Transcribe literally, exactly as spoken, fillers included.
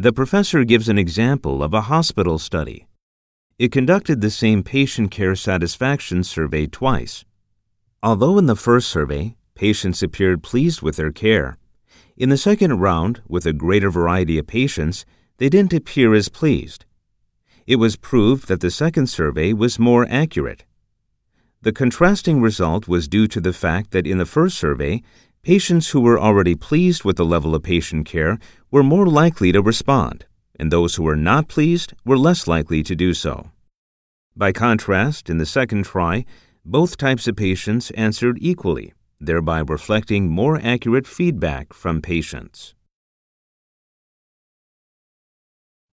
The professor gives an example of a hospital study. It conducted the same patient care satisfaction survey twice. Although in the first survey, patients appeared pleased with their care, in the second round, with a greater variety of patients, they didn't appear as pleased. It was proved that the second survey was more accurate. The contrasting result was due to the fact that in the first survey, patients who were already pleased with the level of patient care were more likely to respond, and those who were not pleased were less likely to do so. By contrast, in the second try, both types of patients answered equally, thereby reflecting more accurate feedback from patients.